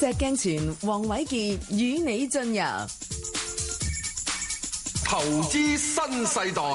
石鏡泉、黃偉傑與你進入投資新世代。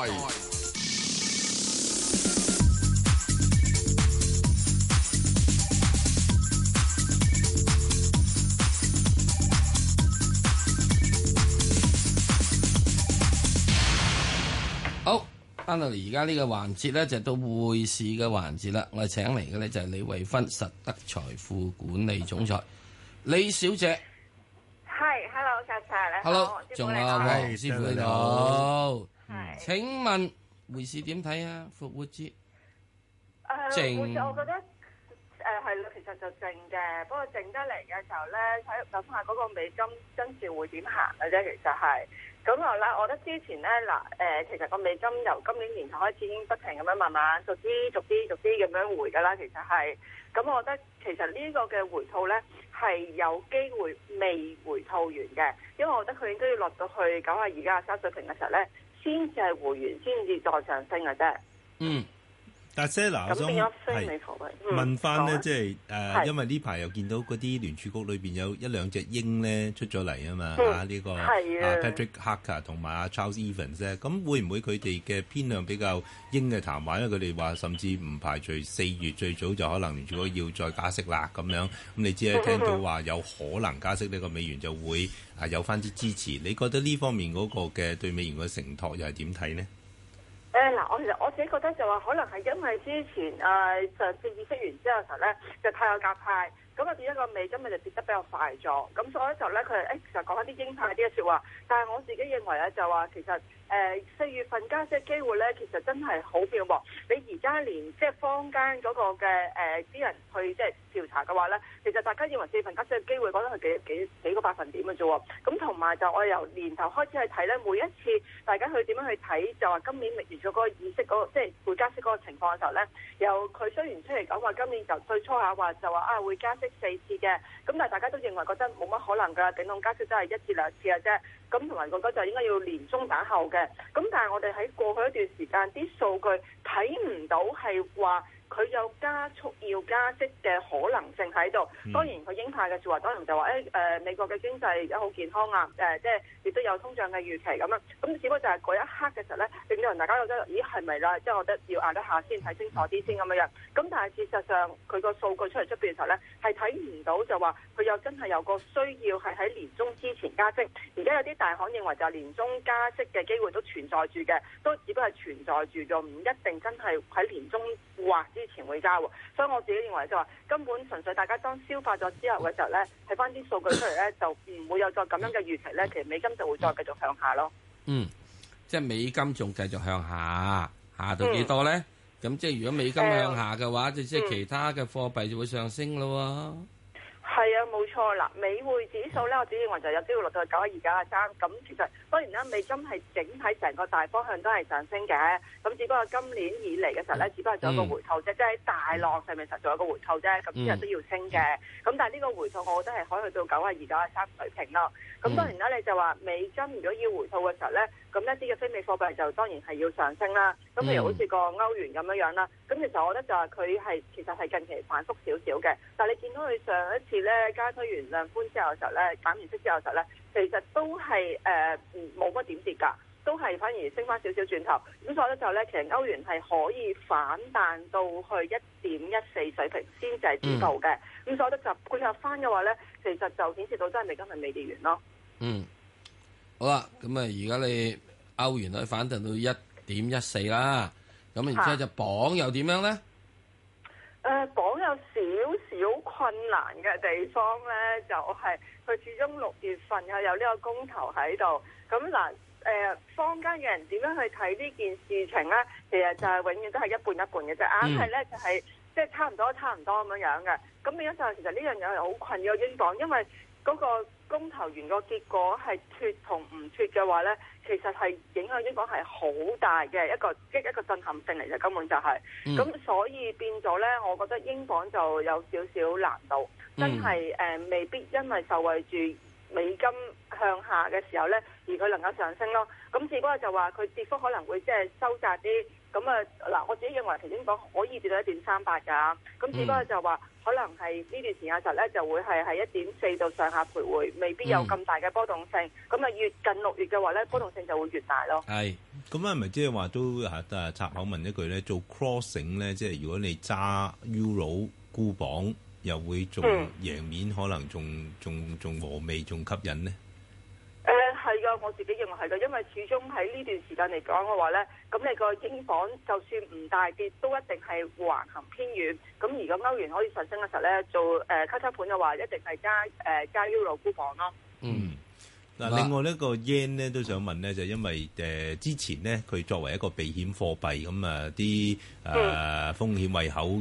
好，翻到嚟而家呢個環節咧，就到匯市嘅環節啦。我哋請嚟嘅咧就係李慧芬，實德財富管理總裁李小姐。 係 ，hello， 石 Sir 你好。 hello， 仲有黃師傅你好。 係。 請問匯市點睇啊？復活節靜， 我覺得係啦，其實就靜嘅，不過靜得嚟嘅時候咧，睇下嗰個美金跟住會點行嘅啫。其實係咁後啦，我覺得之前咧其實個美金由今年年頭開始已經不停咁樣慢慢逐啲咁樣回㗎啦。其實係咁，我覺得其實呢個嘅回吐咧係有機會未回吐完嘅，因為我覺得佢應該要落到去92.93水平嘅時候咧，先至係回完，先至再上升嘅啫。 嗯。 但係嗱，我想問翻咧，即係因為呢排又見到嗰啲聯儲局裏邊有一兩隻鷹咧出咗嚟啊嘛，呢個Patrick Harker 同埋Charles Evans 咧，咁會唔會佢哋嘅偏向比較鷹嘅談話？因為佢哋話甚至唔排除4月最早就可能聯儲局要再加息啦咁樣。咁你知咧，聽到話有可能加息呢個美元就會有翻啲支持。你覺得呢方面嗰個嘅對美元嘅承托又係點睇呢？ 我自己覺得就話可能係因為之前上次議息完之後嘅時候咧，就太有鴿派，咁啊變一個美金咪就跌得比較快咗，咁所以就咧佢其實講翻啲鷹派啲嘅説話，但係我自己認為咧就話其實4月份加息嘅機會咧，其實真係好渺茫。你而家連即係坊間嗰個嘅啲人去即係調查嘅話咧，其實大家認為4月份加息嘅機會，覺得係幾個百分點嘅啫喎。咁同埋就我由年頭開始去睇咧，每一次大家去點樣去睇，就話今年完咗嗰個議息嗰個即係會加息嗰個情況嘅時候咧，由佢雖然出嚟講話今年就最初下話就話會加息4次嘅，咁但係大家都認為覺得冇乜可能㗎，頂籠加息都係1至2次嘅啫。咁同埋覺得就應該要年中打後嘅，咁但係我哋喺過去一段時間啲數據睇唔到係話佢有加速要加息嘅可能性喺度。當然佢鷹派嘅説話當然就話美國嘅經濟而家好健康啊，即係亦都有通脹嘅預期咁啊。咁只不過就係嗰一刻嘅時候咧，令到人大家覺得咦係咪啦？即係我覺得要壓一下先睇清楚啲先咁樣樣。咁但係事實上佢個數據出嚟出邊嘅時候咧，係睇唔到就話佢又真係有個需要係喺年中之前加息。而家有啲大行認為就係年中加息嘅機會都存在住嘅，都只不過係存在住咗，唔一定真係喺年中或之前會加喎。所以我自己認為就話根本純粹大家當消化咗之後嘅時候咧，睇翻啲數據出嚟咧，就唔會有再咁樣嘅預期咧，其實美金就會再繼續向下咯。 即係美金仲繼續向下，下到幾多咧？咁即係如果美金向下嘅話，就即係其他嘅貨幣就會上升咯。 係啊，冇錯啦。美匯指數咧，我自己認為就有機會落到去92.93。咁其實當然啦，美金係整體成個大方向都係上升嘅。咁只不過今年以嚟嘅時候咧，只不過仲有個回吐啫，即係喺大浪上面實仲有個回吐啫。咁之後都要升嘅。咁但係呢個回吐，我覺得係可以去到92.93水平咯。咁當然啦，你就話美金如果要回吐嘅時候咧，咁一啲嘅非美貨幣就當然係要上升啦。咁譬如好似個歐元咁樣啦。咁其實我覺得就係佢其實係近期反覆少少嘅。但係你見到佢上一次咧加推完量寬之後嘅時候咧，減完息之後嘅時候咧，其實都係冇乜點跌㗎，都係反而升翻少少轉頭。咁所以咧就咧，其實歐元係可以反彈到去1.14水平先至係止步嘅。咁所以咧就配合翻嘅話咧，其實就顯示到真係美金係未跌完咯。 好啦，咁啊而家你歐元可以反彈到1.14啦，咁然之後就鎊又點樣咧？ 鎊有少少困難嘅地方咧，就係佢始終6月份又有呢個公投喺度。咁嗱，坊間嘅人點樣去睇呢件事情咧？其實就係永遠都係一半一半嘅啫，硬係咧就係即係差唔多咁樣嘅。咁變咗就係其實呢樣嘢係好困擾英鎊，因為嗰個公投完個結果係脱同唔脱嘅話咧，其實係影響英鎊係好大嘅一個震撼性嚟嘅，根本就係。咁所以變咗咧，我覺得英鎊就有少少難度，真係未必因為受惠住美金向下嘅時候咧，而佢能夠上升咯。咁只不過就話佢跌幅可能會即係收窄啲。咁啊嗱，我自己認為頭先講可以跌到1.38㗎。咁只不過就話可能係呢段時間實咧就會係喺1.4度上下徘徊，未必有咁大嘅波動性。咁啊越近6月嘅話咧，波動性就會越大咯。 係。咁係咪即係話都插口問一句咧？做 crossing 咧，即係如果你揸 Euro 沽磅，又會仲贏面，可能仲和味，仲吸引呢？ 係㗎，我自己認為係㗎，因為始終喺呢段時間嚟講嘅話咧，咁你個英鎊就算唔大跌，都一定係橫行偏軟。咁而個歐元可以上升嘅時候咧，做交叉盤嘅話，一定係加 Euro 沽磅咯。 嗯。嗱，另外呢個 yen 咧都想問咧，就因為之前咧佢作為一個避險貨幣，咁啊啲風險胃口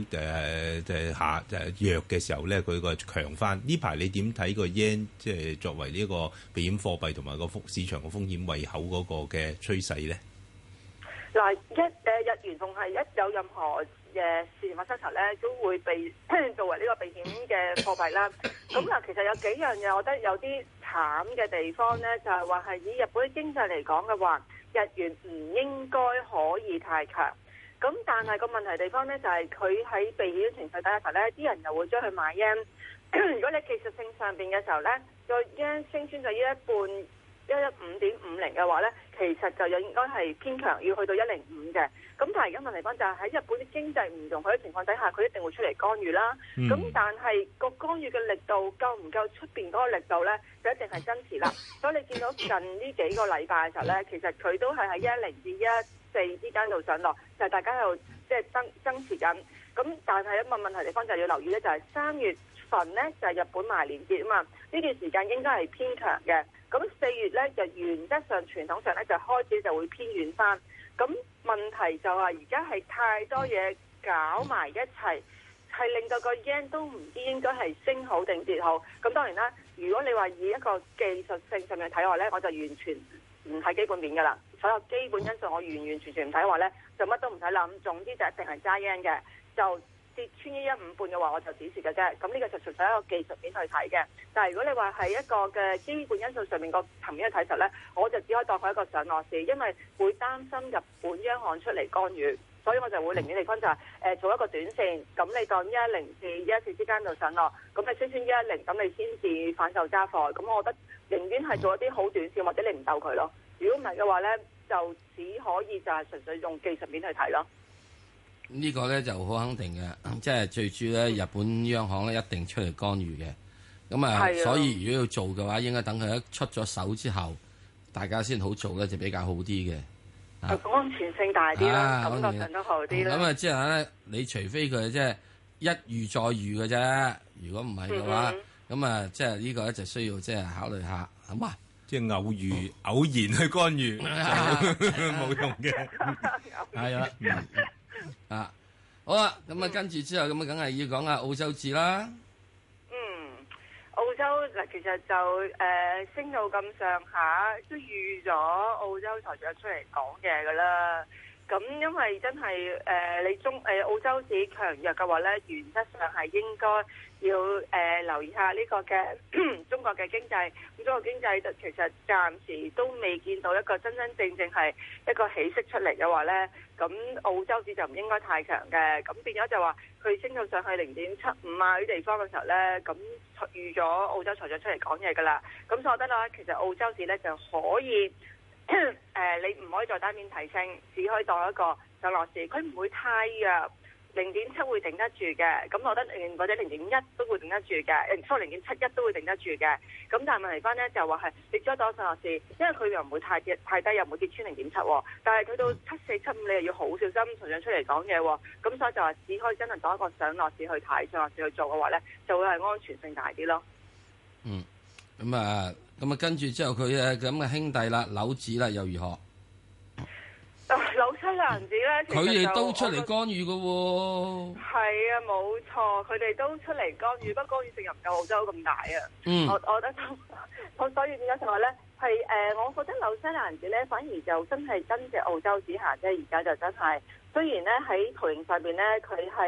弱嘅時候咧，佢個強翻。呢排你點睇個 yen 即係作為呢個避險貨幣同埋個市場個風險胃口嗰個嘅趨勢咧？ 嗱，日元仲係一有任何事情發生時咧，都會被作為呢個避險嘅貨幣啦。咁嗱，其實有幾樣嘢，我覺得有啲慘嘅地方咧，就係話係以日本嘅經濟嚟講嘅話，日元唔應該可以太強。咁但係個問題地方咧，就係佢喺避險情緒底下時候咧，啲人又會將佢買 yen。如果你技術性上邊嘅時候咧，個 yen 升穿咗一半。115.50嘅話咧，其實就應該係偏強，要去到105嘅。咁但係而家問題翻就係喺日本啲經濟唔容許嘅情況底下，佢一定會出嚟干預啦。咁但係個干預嘅力度夠唔夠出邊嗰個力度咧，就一定係增持啦。所以你見到近呢幾個禮拜嘅時候咧，其實佢都係喺110至114之間度上落，就係大家喺度即係增持緊。咁但係一個問題地方就係要留意咧，就係3月份咧就係日本埋年節啊嘛，呢段時間應該係偏強嘅。咁4月咧就原則上傳統上咧就開始就會偏軟翻。咁問題就係而家係太多嘢搞埋一齊，係令到個 yen 都唔知應該係升好定跌好。咁當然啦，如果你話以一個技術性上面睇話咧，我就完全唔睇基本面㗎啦。所有基本因素我完全唔睇話咧，就乜都唔使諗。總之就一定係揸 yen 嘅，就跌穿115半嘅話，我就止蝕嘅啫。咁呢個就純粹一個技術面去睇嘅。但係如果你話係一個嘅基本因素上面個層面去睇實咧，我就只可以當佢一個上落市，因為會擔心日本央行出嚟干預，所以我就會寧願地方就係做一個短線。咁你當110至114之間度上落，咁你升穿110，咁你先至反手揸貨。咁我覺得寧願係做一啲好短線，或者你唔鬥佢咯。如果唔係嘅話咧，就只可以就係純粹用技術面去睇咯。 呢個咧就好肯定嘅，即係最主要咧，日本央行咧一定出嚟干預嘅。咁啊，所以如果要做嘅話，應該等佢一出咗手之後，大家先好做咧，就比較好啲嘅。 安全性大啲啦，感覺上都好啲啦。咁啊，之後咧，你除非佢即係一遇再遇嘅啫，如果唔係嘅話，咁啊，即係呢個咧就需要即係考慮下，好嘛？即係偶然去干預冇用嘅，係啊。啊，好啦，咁啊，跟住之後咁啊，梗係要講下澳洲紙啦。 澳洲嗱，其實就升到咁上下，都預咗澳洲財長出嚟講嘢噶啦。咁因為真係你澳洲紙強弱嘅話咧，原則上係應該要留意下呢個嘅中國嘅經濟。咁中國經濟其實暫時都未見到一個真真正正係一個起色出嚟嘅話咧，咁澳洲紙就唔應該太強嘅。咁變咗就話佢升到上去0.75啊啲地方嘅時候咧，咁預咗澳洲財長出嚟講嘢噶啦。咁所以我覺得啦，其實澳洲紙咧就可以。你唔可以再單邊提升，只可以當一個上落市，佢唔會太弱，0.7會頂得住嘅。咁我覺得或者0.1都會頂得住嘅，初0.71都會頂得住嘅。咁但係問題翻咧就話係你只可以當上落市，因為佢又唔會太低，又唔會跌穿0.7。但係去到74、75，你又要好小心，同樣出嚟講嘢。咁所以就話只可以真係當一個上落市去睇，上落市去做嘅話咧，就會係安全性大啲咯。 咁啊，跟住之後佢咁嘅兄弟啦，紐紙啦，又如何？ 紐西蘭紙咧， 佢哋都出嚟干預嘅喎。係啊，冇錯，佢哋都出嚟干預，不過干預性又唔夠澳洲咁大啊。我覺得我所以點解就話咧，係我覺得紐西蘭紙咧，反而就真係跟隻澳洲紙行啫。而家就真係，雖然咧喺圖形上邊咧，佢係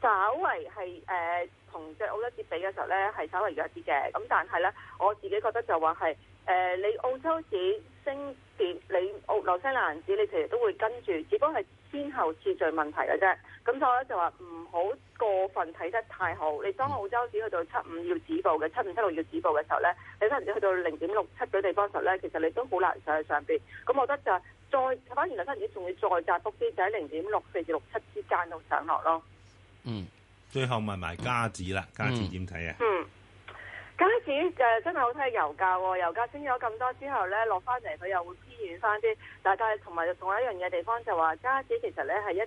稍為係同隻澳洲紙比嘅時候咧，係稍微弱啲嘅。咁但係咧，我自己覺得就話係你澳洲紙升跌，你紐西蘭紙你其實都會跟住，只不過係先後次序問題嘅啫。咁所以咧就話唔好過分睇得太好。你當澳洲紙去到75要止步嘅，7576要止步嘅時候咧，你可能只去到0.67嗰啲地方時候咧，其實你都好難上去上邊。咁我覺得就再反而紐西蘭紙仲要再窄幅啲，就喺0.64至67之間度上落咯。 嗯，最後問埋加紙啦，加紙點睇啊？ 加紙真係好睇油價喎，油價升咗咁多之後咧，落翻嚟佢又會偏軟翻啲。但係同埋仲有一樣嘢地方就話，加紙其實咧係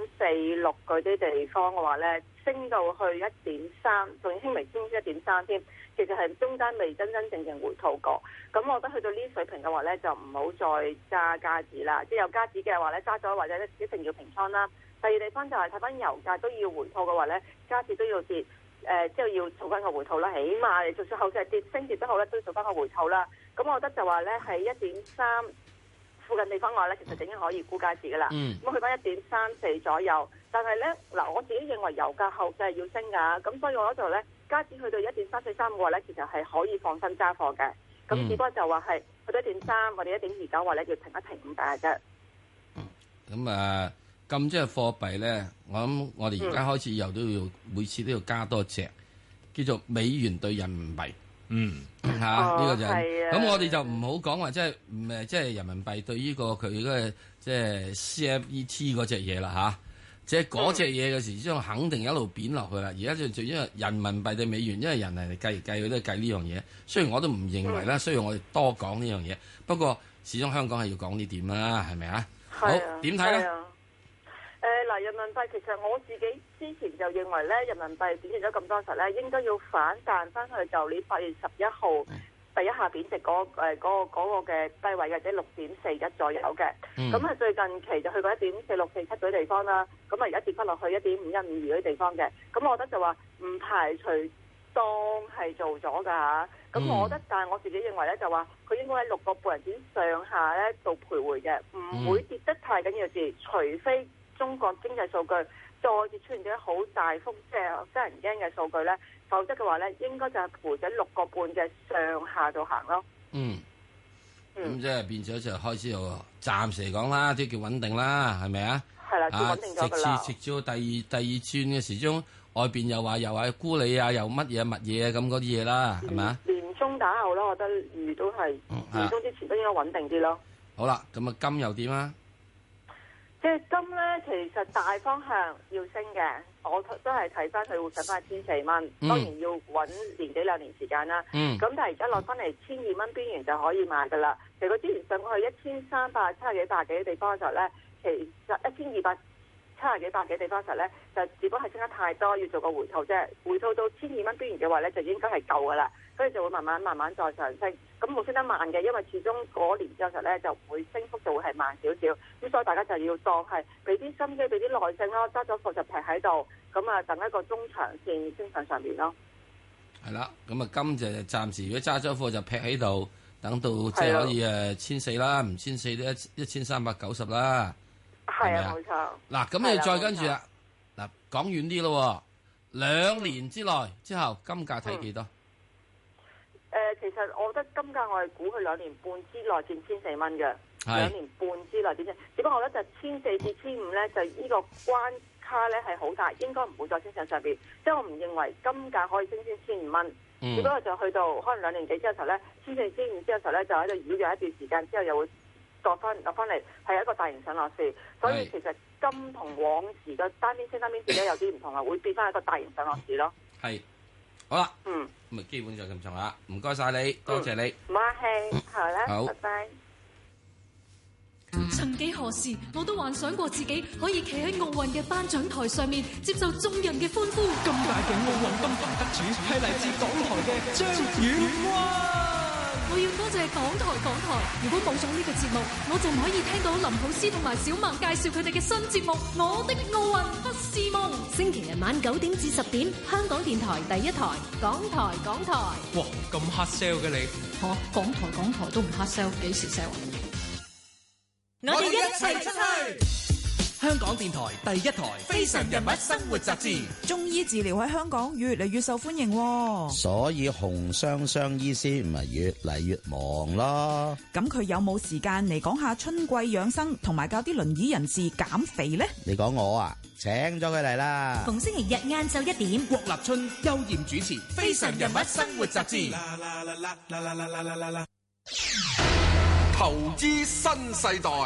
1.46嗰啲地方嘅話咧，升到去1.3，仲要輕微升1.3添。其實係中間未真正回吐過。咁我覺得去到呢水平嘅話咧，就唔好再揸加紙啦。即係有加紙嘅話咧，揸咗或者一定要平倉啦。第二地方就係睇翻油價都要回吐嘅話咧，加紙都要跌，即係要做翻個回吐啦。起碼你就算後市係升跌都好咧，都要做翻個回吐啦。咁我覺得就話咧係1.3附近地方嘅話咧，其實已經可以沽加紙噶啦。咁去翻1.34左右，但係咧嗱，我自己認為油價後市係要升㗎，咁所以我覺得咧加紙去到1.343嘅話咧，其實係可以放心揸貨嘅。咁只不過就話係去到1.3或者1.29話咧，要停一停咁解啫。 咁咁即係貨幣咧，我諗我哋而家開始又都要每次都要加多隻，叫做美元對人民幣。呢個就係咁，我哋就唔好講話即係人民幣對呢個佢嗰個即係 CFET 嗰隻嘢啦嚇，即係嗰隻嘢嘅時將肯定一路貶落去啦。而家就因為人民幣對美元，因為人嚟計佢都係計呢樣嘢。雖然我都唔認為啦，需要我哋多講呢樣嘢，不過始終香港係要講呢點啦，係咪啊？好，點睇咧？ 嗱，人民幣其實我自己之前就認為咧，人民幣貶值咗咁多時咧，應該要反彈翻去就年8月11號第一下貶值嗰個嘅低位嘅，即係6.41左右嘅。咁啊，最近期就去過1.4647嗰啲地方啦。咁啊，而家跌翻落去1.5152嗰啲地方嘅。咁我覺得就話唔排除當係做咗㗎嚇。咁我覺得，但係我自己認為咧，就話佢應該喺6個半人點上下咧度徘徊嘅，唔會跌得太緊要字，除非中國經濟數據再次出現咗好大幅即係得人驚嘅數據咧，否則嘅話咧，應該就係陪緊6個半嘅上下度行咯。 咁即係變咗就開始又暫時嚟講啦，都叫穩定啦，係咪啊？ 係啦，叫穩定咗㗎啦。 直至到第二轉嘅時鐘，外邊又話沽你啊，又乜嘢乜嘢咁嗰啲嘢啦，係咪啊？ 年中打後啦，我覺得預都係年中之前都應該穩定啲咯。 好啦，咁啊金又點啊？ 即係金咧，其實大方向要升嘅，我都係睇翻佢會上翻1400蚊，當然要揾年幾兩年時間啦。咁但係而家落翻嚟1200蚊邊緣就可以買噶啦。其實佢之前上過去1370幾百幾嘅地方嘅時候咧，其實1270幾百幾地方嘅時候咧，就只不過係升得太多，要做個回吐啫。回吐到1200蚊邊緣嘅話咧，就應該係夠噶啦，所以就會慢慢再上升。咁冇升得慢嘅，因為始終嗰年之後實咧就會升幅就會係慢少少，咁所以大家就要當係俾啲心機，俾啲耐性咯，揸咗貨就劈喺度，咁啊等一個中長線升上邊咯。係啦，咁啊金就暫時如果揸咗貨就劈喺度，等到即係可以1400啦，唔1400都1390啦。係啊，冇錯。嗱，咁你再跟住啦，嗱講遠啲咯，2年之內之後金價睇幾多？ 其實我覺得金價我係估佢2年半之內見1400蚊嘅，2年半之內點啫？只不過我覺得就1400至1500咧，就呢個關卡咧係好大，應該唔會再升上邊。即係我唔認為金價可以升穿1500蚊，只不過就去到可能2年幾之後咧，1400、1500之後咧就喺度繞咗一段時間之後又會落翻嚟，係一個大型上落市。所以其實金同往時嘅單邊升單邊跌咧有啲唔同啊，會變翻一個大型上落市咯。 係。好啦，咁啊基本就咁上下，唔該晒你，多謝你， 唔客氣，好啦， 好， 拜拜。 曾幾何時，我都幻想過自己可以企喺奧運嘅頒獎台上面，接受眾人嘅歡呼。 咁大嘅奧運金牌得主係嚟自港台嘅張遠灣。 我要多謝港台，如果冇咗呢個節目，我就唔可以聽到林普斯同埋小孟介紹佢哋嘅新節目《我的奧運不是夢》。星期日晚9點至10點，香港電台第一台，港台。 哇，咁黑 sell 嘅你？ 港台都唔黑 sell，幾時 sell 啊？ 我哋一齊出去！ 香香港電台第一台《非常人物生活雜誌》。 中醫治療喺香港越嚟越受歡迎喎， 所以洪雙雙醫師唔係越嚟越忙咯。 咁佢有冇時間嚟講下春季養生，同埋教啲輪椅人士減肥呢？ 你講我啊，請咗佢嚟啦。 逢星期日晏晝1點， 郭立春、邱艷主持《非常人物生活雜誌》。 投資新世代。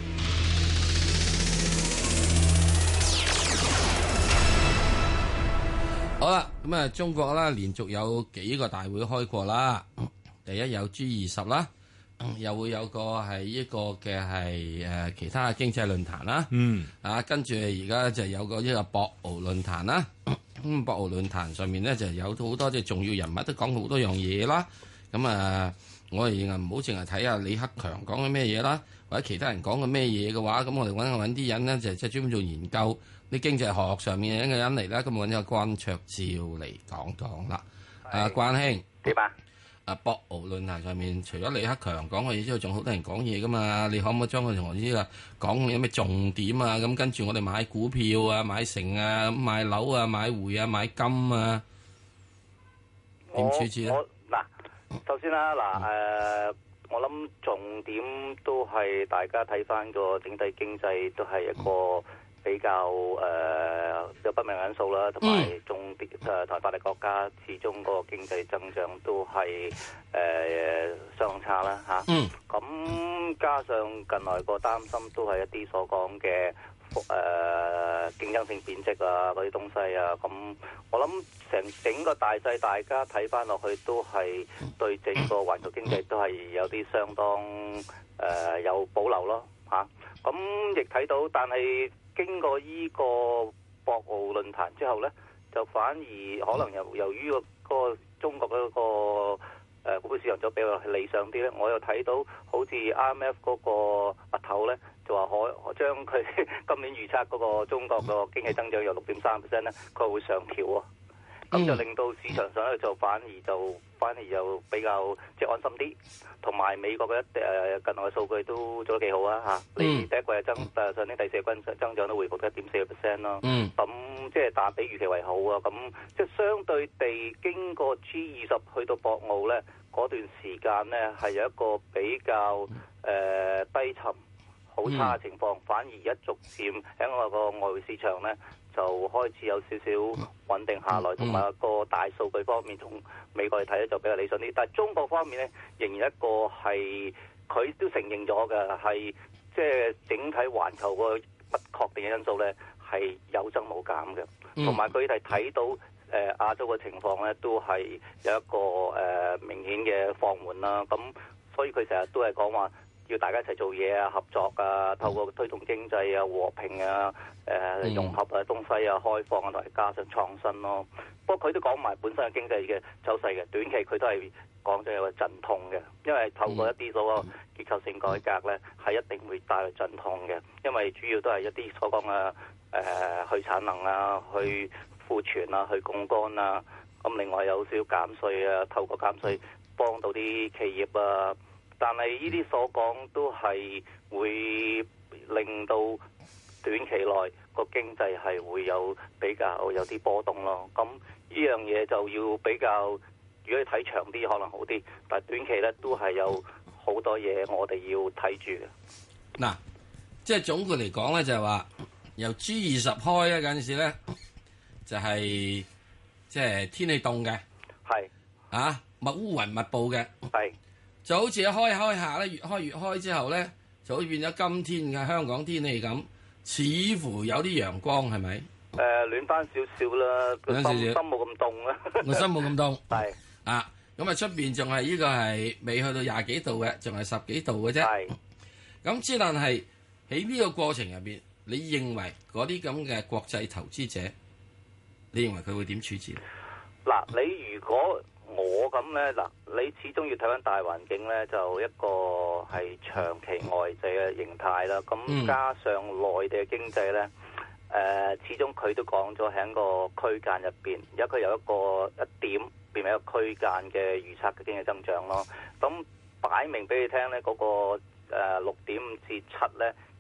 好啦，咁啊，中國啦，連續有幾個大會開過啦。第一有 G20 啦，又會有個係呢個嘅係其他嘅經濟論壇啦。跟住而家就有個呢個博鰲論壇啦。咁博鰲論壇上面咧就有好多即係重要人物都講好多樣嘢啦。咁我哋唔好淨係睇下李克強講緊咩嘢啦，或者其他人講緊咩嘢嘅話，咁我哋揾啲人咧就即係專門做研究啲經濟學上面嘅人嚟啦。咁揾咗個關焯照嚟講啦。關兄點啊？ 博鰲論壇上面除咗李克強講嘅嘢之外，仲好多人講嘢噶嘛？你可唔可以將佢同我呢個講有咩重點啊？咁跟住我哋買股票啊、買成啊、買樓啊、買匯啊、買金啊，點處置咧？ 首先啦，我諗重點都係大家睇翻個整體經濟都係一個比較有不明因素啦，同埋台發達國家始終個經濟增長都係相當差啦嚇。咁加上近來個擔心都係一啲所講嘅競爭性貶值啊嗰啲東西啊，咁我諗整個大勢大家睇翻落去都係對整個環球經濟都係有啲相當有保留咯嚇。咁亦睇到，但係經過依個博鰲論壇之後呢，就反而可能由於個中國嗰個股票市場就比較理想啲呢，我又睇到好似 IMF 嗰個阿頭呢，就話可將佢今年預測嗰個中國個經濟增長由6.3% 呢，佢會上調喎。咁就令到市場上咧就反而就比較即係安心啲，同埋美國嘅近來嘅數據都做得幾好啊嚇！你第一季嘅上年第四季增長都回復咗1.4%咯。咁即係但比預期為好啊！咁即係相對地，經過 G20 去到博鰲咧嗰段時間咧，係有一個比較低沉、好差嘅情況，反而一逐漸喺我個外匯市場咧，就開始有少少穩定下來，同埋個大數據方面同美國嚟睇咧就比較理想啲。但係中國方面咧，仍然一個係佢都承認咗嘅，係即係整體環球個不確定嘅因素咧係有增冇減嘅，同埋佢哋睇到亞洲嘅情況咧都係有一個明顯嘅放緩啦。咁所以佢成日都係講話要大家一齊做嘢啊、合作啊，透過推動經濟啊、和平啊、融合啊、東西啊、開放啊，同埋加上創新咯。不過佢都講埋本身嘅經濟嘅走勢嘅，短期佢都係講咗有個陣痛嘅，因為透過一啲所謂結構性改革咧，係一定會帶來陣痛嘅，因為主要都係一啲所講嘅去產能啊、去庫存啊、去槓桿啊，咁另外有少少減稅啊，透過減稅幫到啲企業啊。但係呢啲所講都係會令到短期內個經濟係會有比較有啲波動咯。咁呢樣嘢就要比較，如果你睇長啲可能好啲，但係短期咧都係有好多嘢我哋要睇住嘅。 嗱，即係總括嚟講咧，就係話由 G20 開咧嗰陣時咧，就係即係天氣凍嘅， 係啊烏雲密布嘅， 係。 就好似一開下咧，越開之後咧，就好似變咗今天嘅香港天氣咁，似乎有啲陽光，係咪？ 暖翻少少啦，個心冇咁凍啦。 個心冇咁凍。 係啊，咁啊出邊仲係呢個係未去到20幾度嘅，仲係10幾度嘅啫。 係。 咁之但係喺呢個過程入邊，你認為嗰啲咁嘅國際投資者，你認為佢會點處置？ 嗱，你如果我咁咧，嗱，你始終要睇翻大環境咧，就一個係長期外滯嘅形態啦。咁加上內地嘅經濟咧，始終佢都講咗喺個區間入邊，而家佢有一個點變為一個區間嘅預測嘅經濟增長咯。咁擺明俾你聽咧，嗰個6.5至7咧，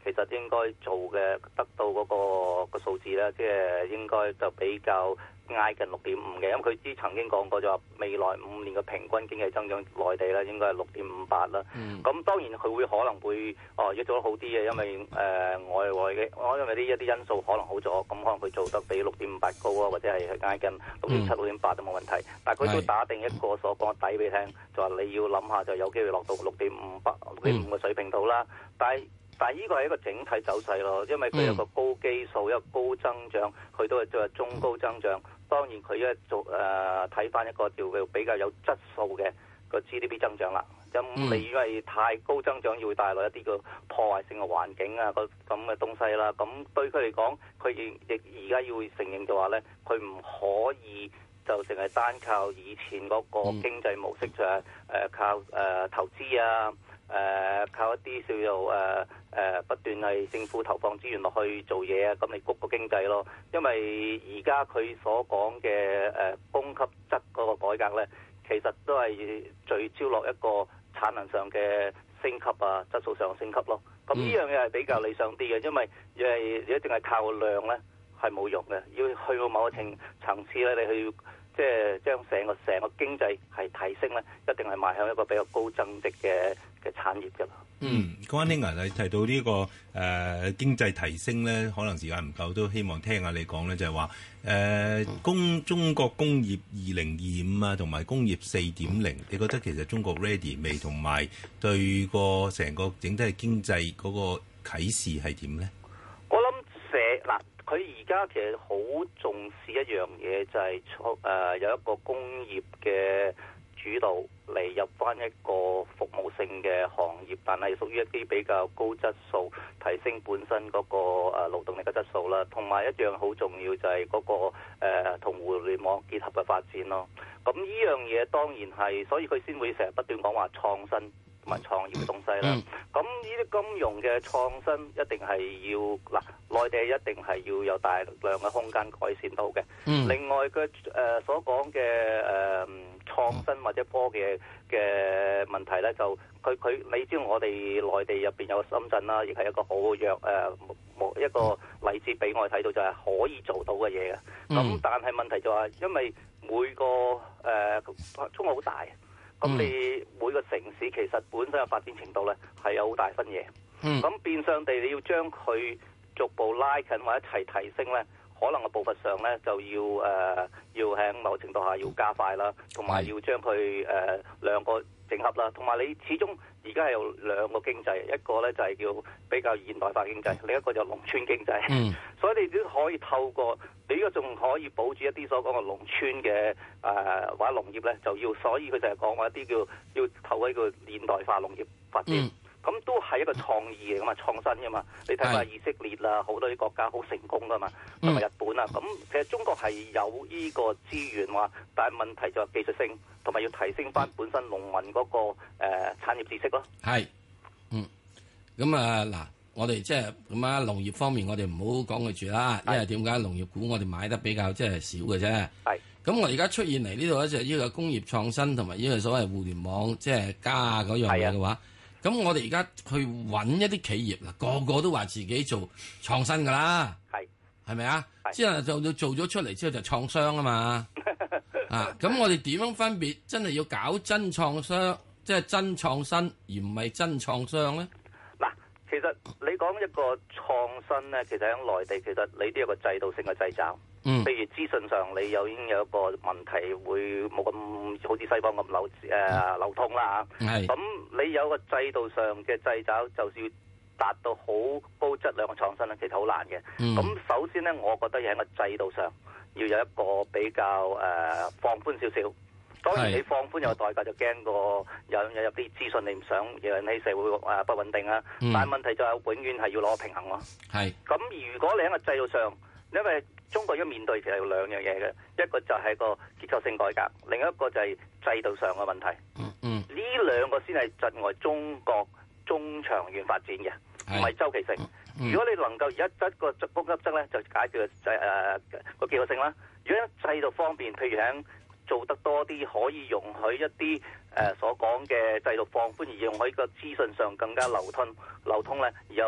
其實應該做嘅得到嗰個數字咧，即係應該就比較挨近6.5嘅，因為佢之曾經講過就話未來5年嘅平均經濟增長內地咧應該係6.58啦。咁當然佢會可能會要做得好啲嘅，因為外嘅因為一啲因素可能好咗，咁可能佢做得比6.58高啊，或者係挨近6.7、6.8都冇問題。但係佢都打定一個所講嘅底俾你聽，就話你要諗下就有機會落到6.5嘅水平度啦。但係呢個係一個整體走勢咯，因為佢有個高基數，一個高增長，佢都係做中高增長。當然佢一做睇翻一個叫比較有質素嘅個 GDP 增長啦。咁你因為太高增長，要會帶來一啲個破壞性嘅環境啊，咁嘅東西啦。咁對佢嚟講，佢亦而家要承認就話咧，佢唔可以就淨係單靠以前嗰個經濟模式，就係靠投資啊。靠一啲叫做不斷係政府投放資源落去做嘢啊，咁嚟谷個經濟咯。因為而家佢所講嘅供給側嗰個改革咧，其實都係聚焦落一個產能上嘅升級啊，質素上嘅升級咯。咁呢樣嘢係比較理想啲嘅，因為你一定係靠量咧係冇用嘅，要去到某個層次咧，你去即係將成個經濟係提升咧，一定係邁向一個比較高增值嘅產業㗎啦。 關兄啊，你提到呢個經濟提升咧，可能時間唔夠，都希望聽下你講咧，就係話中國工業2025啊，同埋工業4.0，你覺得其實中國 ready 未？同埋對個成個整體嘅經濟嗰個啟示係點咧？ 我諗佢而家其實好重視一樣嘢，就係有一個工業嘅主導嚟入翻一個服務性嘅行業，但係屬於一啲比較高質素，提升本身嗰個勞動力嘅質素啦。同埋一樣好重要就係嗰個同互聯網結合嘅發展咯。咁呢樣嘢當然係，所以佢先會成日不斷講話創新同埋創業嘅東西啦。咁呢啲金融嘅創新一定係要內地一定係要有大量嘅空間改善到嘅。另外嘅所講嘅創新或者科技嘅問題咧，就佢你知道我哋內地入邊有深圳啦，亦係一個好一個例子俾我哋睇到，就係可以做到嘅嘢嘅。咁但係問題就係因為每個中國好大。咁你每個城市其實本身嘅發展程度咧係有好大分野。咁變相地你要將佢逐步拉近或者一齊提升咧，可能嘅步伐上咧就要喺某程度下要加快啦，同埋要將佢兩個整合啦。同埋你始終而家係有兩個經濟，一個咧就係叫比較現代化經濟，另一個就農村經濟。所以你都可以透過你呢個仲可以保住一啲所講嘅農村嘅或者農業咧，就要所以佢就係講話一啲叫要透過一個現代化農業發展。咁都係一個創意嚟㗎嘛，創新㗎嘛。你睇下以色列啦，好多啲國家好成功㗎嘛，同埋日本啊。咁其實中國係有呢個資源話，但係問題就係技術性，同埋要提升翻本身農民嗰個產業知識咯。 係，咁嗱，我哋即係咁啊，農業方面我哋唔好講佢住啦，因為點解農業股我哋買得比較即係少嘅啫。係。咁我而家出現嚟呢度咧就係呢個工業創新同埋呢個所謂互聯網即係加嗰樣嘢嘅話。咁我哋而家去揾一啲企業啦，個個都話自己做創新噶啦，係咪啊？之後就做咗出嚟之後就創商啊嘛，咁我哋點樣分別真係要搞真創商，即係真創新，而唔係真創商咧？ 嗱，其實你講一個創新咧，其實喺內地，其實你都有個制度性嘅掣肘。譬如資訊上你已經有一個問題，會冇咁好似西方咁流通啦嚇。咁你有個制度上嘅掣肘，就是要達到好高質量嘅創新咧，其實好難嘅。咁首先咧，我覺得喺個制度上要有一個比較放寬少少。當然你放寬有代價，就驚個有入啲資訊你唔想引起社會不穩定啊。但係問題就係永遠係要攞平衡咯。咁如果你喺個制度上，因為中國而家面對其實有兩樣嘢嘅，一個就係個結構性改革，另一個就係制度上嘅問題。呢兩個先係窒礙中國中長遠發展嘅，唔係周期性。如果你能夠而家一個供給側咧，就解決個結構性啦。如果喺制度方面，譬如喺做得多啲，可以容許一啲所講嘅制度放寬，而用喺個資訊上更加流通咧，而有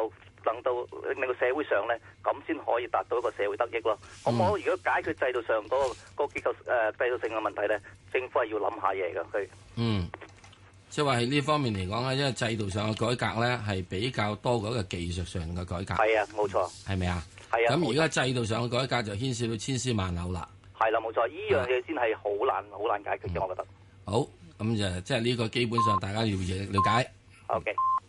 能到令到社會上咧，咁先可以達到一個社會得益咯。咁我如果解決制度上嗰個結構制度性嘅問題咧，政府係要諗下嘢㗎佢。 即係話喺呢方面嚟講咧，因為制度上嘅改革咧係比較多過一個技術上嘅改革。 係啊，冇錯。 係咪啊？ 係啊。 咁而家制度上嘅改革就牽涉到千絲萬縷啦。 係啦，冇錯，呢樣嘢先係好難解決嘅，我覺得。 好，咁就即係呢個基本上大家要了解。 OK。